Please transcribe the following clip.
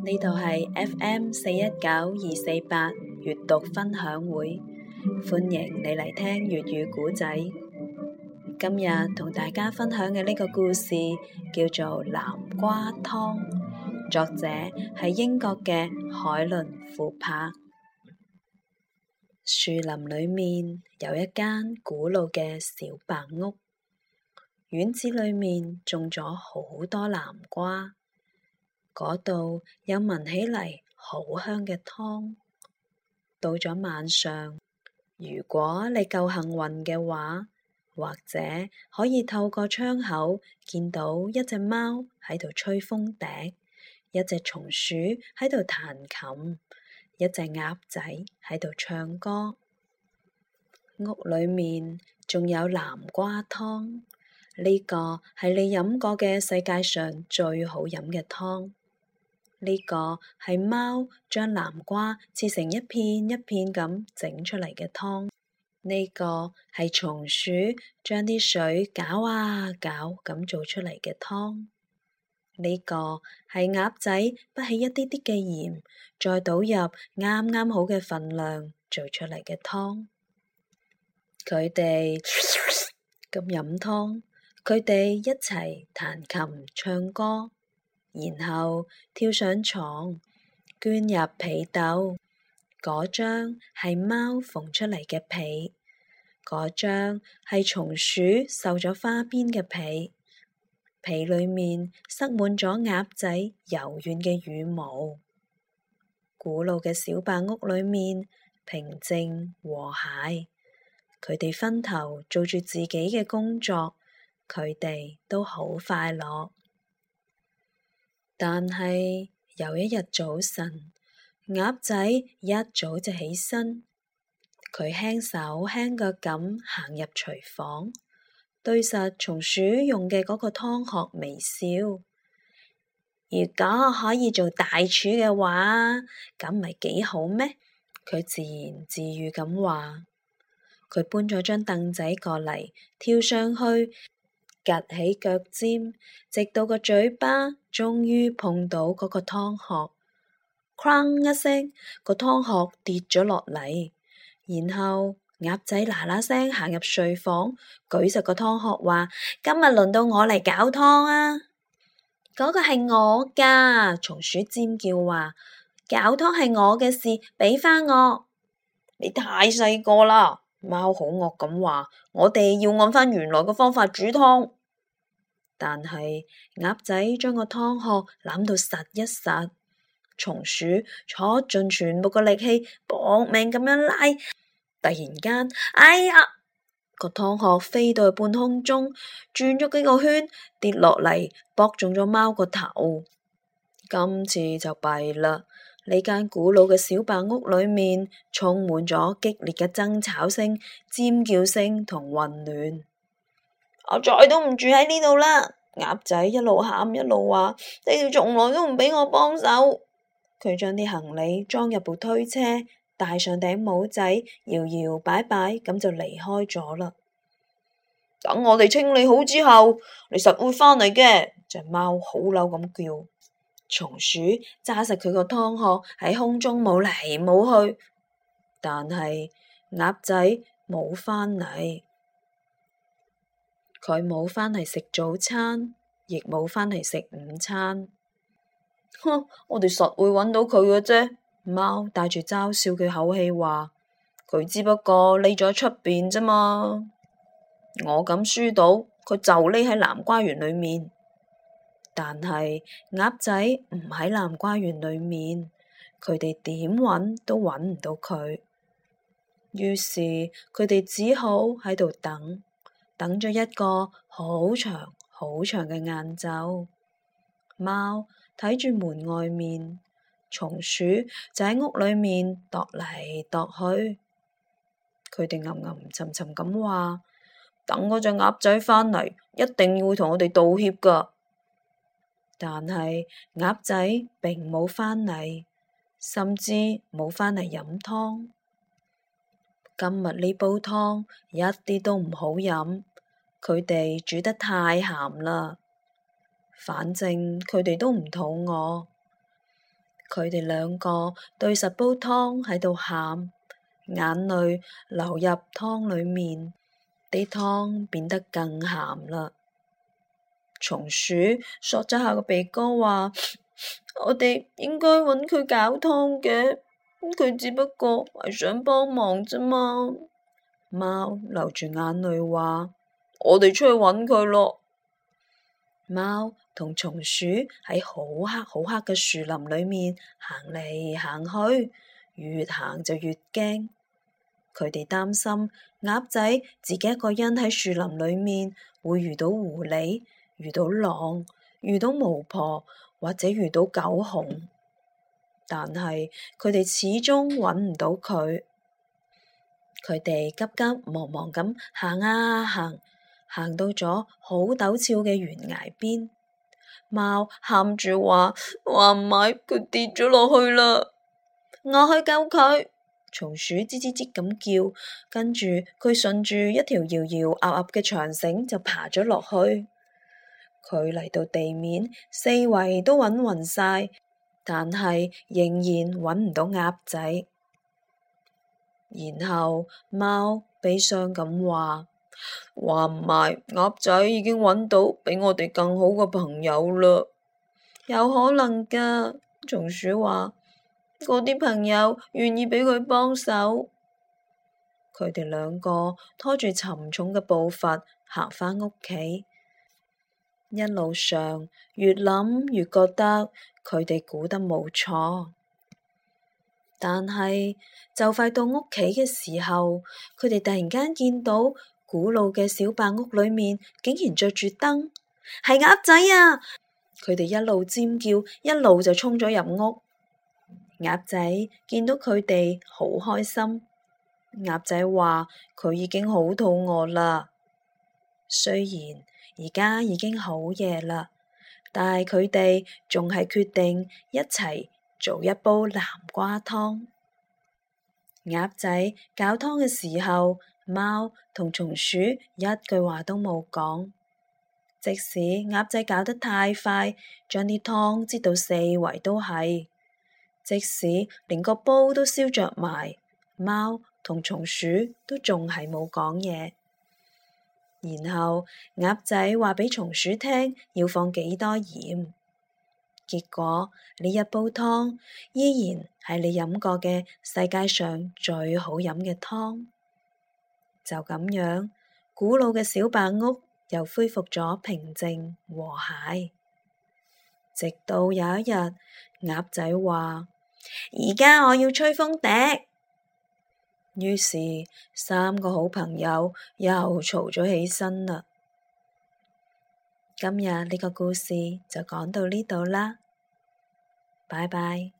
呢度係 FM 419-248閱讀分享會，歡迎你嚟聽粵語古仔。今日同大家分享嘅呢個故事叫做《南瓜湯》，作者係英國嘅海倫庫珀。樹林裏面有一間古老嘅小白屋，院子裏面種咗好多南瓜，嗰度有聞起嚟好香嘅湯。到咗晚上，如果你夠幸運嘅話，或者可以透過窗口見到一隻貓喺度吹風笛，一隻松鼠喺度彈琴，一隻鴨仔喺度唱歌。屋裏面仲有南瓜湯，呢個係你飲過嘅世界上最好飲嘅湯。呢個係貓將南瓜切成一片一片咁整出嚟嘅湯。呢個係松鼠將啲水攪啊攪咁做出嚟嘅湯。呢個係鴨仔不起一啲啲嘅鹽，再倒入啱啱好嘅份量做出嚟嘅湯。佢哋咁飲湯，佢哋一齊彈琴唱歌，然後跳上床，鑽入被竇。嗰張係貓縫出嚟嘅被，嗰張係松鼠繡咗花邊嘅被。被裏面塞滿咗鴨仔柔軟嘅羽毛。古老嘅小白屋裏面平靜和諧，佢哋分頭做住自己嘅工作，佢哋都好快樂。但係有一日早晨，鴨仔一早就起身，佢輕手輕腳咁行入廚房，對實松鼠用嘅嗰個湯殼微笑。如果可以做大廚嘅話，咁唔係幾好咩？佢自言自語咁話。佢搬咗張凳仔過嚟，跳上去，趷起腳尖，直到個嘴巴終於碰到嗰個湯殼，哐一聲，個湯殼跌咗落嚟。然後鴨仔嗱嗱聲行入睡房，舉實個湯殼話：今日輪到我嚟搞湯啊！嗰個係我㗎，松鼠尖叫話：搞湯係我嘅事，俾返我。你太細個啦！貓好惡咁話：我哋要按返原來嘅方法煮湯。但係鴨仔將個湯殼攬到實一實，松鼠坐盡全部嘅力氣搏命咁樣拉，突然間，哎呀！個湯殼飛到去半空中，轉咗幾個圈，跌落嚟，搏中咗貓個頭。今次就弊啦！呢間古老嘅小白屋裏面充滿咗激烈嘅爭吵聲、尖叫聲同混亂。我再都唔住喺呢度啦！鴨仔一路喊一路話：你哋從來都唔俾我幫手。佢將啲行李裝入部推車，戴上頂帽仔，搖搖擺擺咁就離開咗啦。等我哋清理好之後，你實會返嚟嘅。隻貓好嬲咁叫。松鼠揸實佢個湯殼喺空中冇嚟冇去，但係鴨仔冇返嚟，佢冇返嚟食早餐，亦冇返嚟食午餐。哼，我哋實會揾到佢嘅啫。貓帶住嘲笑嘅口氣話：佢只不過匿咗喺出邊啫嘛。我敢輸到，佢就匿喺南瓜園裏面。但係鴨仔唔喺南瓜園裏面，佢哋點揾都揾唔到佢。於是佢哋只好喺度等，等咗一個好長好長嘅晏晝。貓睇住門外面，松鼠就喺屋裏面踱嚟踱去。佢哋吟沉沉咁話：等嗰隻鴨仔返嚟，一定要同我哋道歉㗎。但係鴨仔並冇返嚟，甚至冇返嚟飲湯。今日呢煲湯一啲都唔好飲，佢哋煮得太鹹啦。反正佢哋都唔肚餓， 佢哋兩個對實煲湯喺度喊，眼淚流入湯裏面，啲湯變得更鹹啦。松鼠索咗下個鼻哥話：我哋應該揾佢搞湯嘅，佢只不過係想幫忙啫嘛。貓流住眼淚話：我哋出去揾佢咯。貓同松鼠喺好黑好黑嘅樹林裏面行嚟行去，越行就越驚。佢哋擔心鴨仔自己一個人喺樹林裏面會遇到狐狸，遇到狼，遇到巫婆，或者遇到狗熊。但係佢哋始終揾唔到佢。佢哋急急忙忙咁行啊行，行到咗好陡峭嘅懸崖邊。貓喊住話唔係，佢跌咗落去啦，我去救佢。松鼠吱吱吱咁叫，跟住佢順住一條搖搖鴨鴨嘅長繩就爬咗落去。佢嚟到地面，四圍都揾勻晒，但係仍然揾唔到鴨仔。然後貓悲傷咁話唔係，鴨仔已經揾到比我哋更好嘅朋友啦。有可能噶，松鼠話，嗰啲朋友願意俾佢幫手。佢哋兩個拖住沉重嘅步伐行返屋企，一路上越諗越覺得佢哋估得冇錯。但係就快到屋企嘅時候，佢哋突然間見到古老嘅小白屋裏面竟然着住燈，係鴨仔啊！佢哋一路尖叫，一路就衝咗入屋。鴨仔見到佢哋好開心。鴨仔話佢已經好肚餓啦，雖然而家已經好夜啦，但係佢哋仲係決定一齊做一煲南瓜湯。鴨仔搞湯嘅時候，貓同松鼠一句話都冇講。即使鴨仔搞得太快，將啲湯擠到四圍都係，即使連個煲都燒着埋，貓同松鼠都仲係冇講嘢。然後鴨仔話俾松鼠聽要放幾多鹽，結果呢一煲湯依然係你飲過嘅世界上最好飲嘅湯。就咁樣，古老嘅小白屋又恢復咗平靜和諧。直到有一日，鴨仔話：而家我要吹風笛。於是三個好朋友又嘈咗起身啦。今日呢個故事就講到呢度啦，拜拜。